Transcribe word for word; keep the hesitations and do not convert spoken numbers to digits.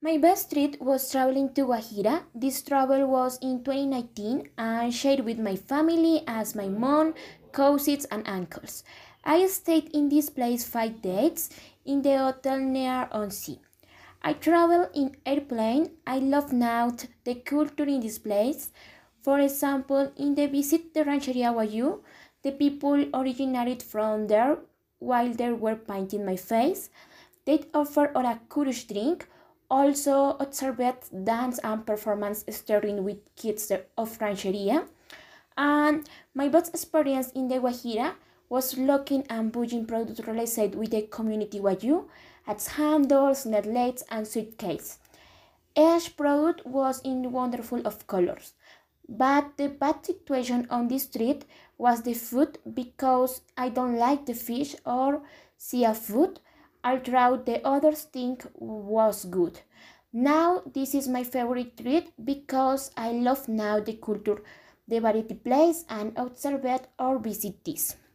My best trip was traveling to Guajira. This travel was in twenty nineteen and shared with my family as my mom, cousins, and uncles. I stayed in this place five days in the hotel near on sea. I travel in airplane. I love now the culture in this place. For example, in the visit the Rancheria Guayu, the people originated from there while they were painting my face. They offer a curious drink. Also observed dance and performance starting with kids of Rancheria. And my best experience in the Guajira was looking and buying products related with the community Guayu, as handles, netlets, and suitcase. Each product was in wonderful of colors. But the bad situation on this trip was the food because I don't like the fish or seafood, although the other thing was good. Now this is my favorite trip because I love now the culture, the variety place and observe it or visit this.